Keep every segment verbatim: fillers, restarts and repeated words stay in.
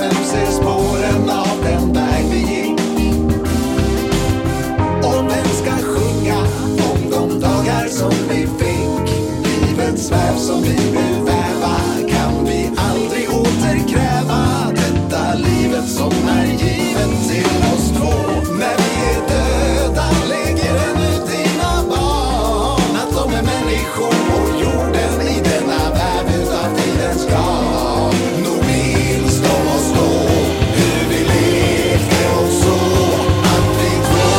vem ser spåren av den väg vi gick? Och vem ska sjunga om de dagar som vi fick? Livets väv som vi vill väva kan vi aldrig återkräva. Detta livet som är givet till oss två. När vi är döda lägger den ut dina barn att de är människor på jorden i denna värld utav tidens garn. Nog minns de oss då, hur vi lekte och så att vi två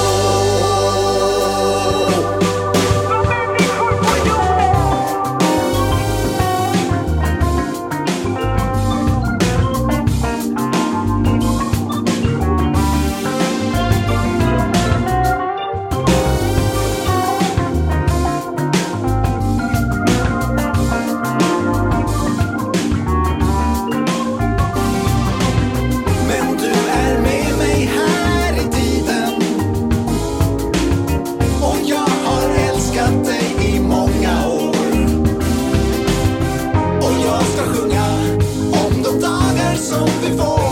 Men du är med mig här i tiden och jag har älskat dig i många år. Och jag ska sjunga om de dagar som vi får.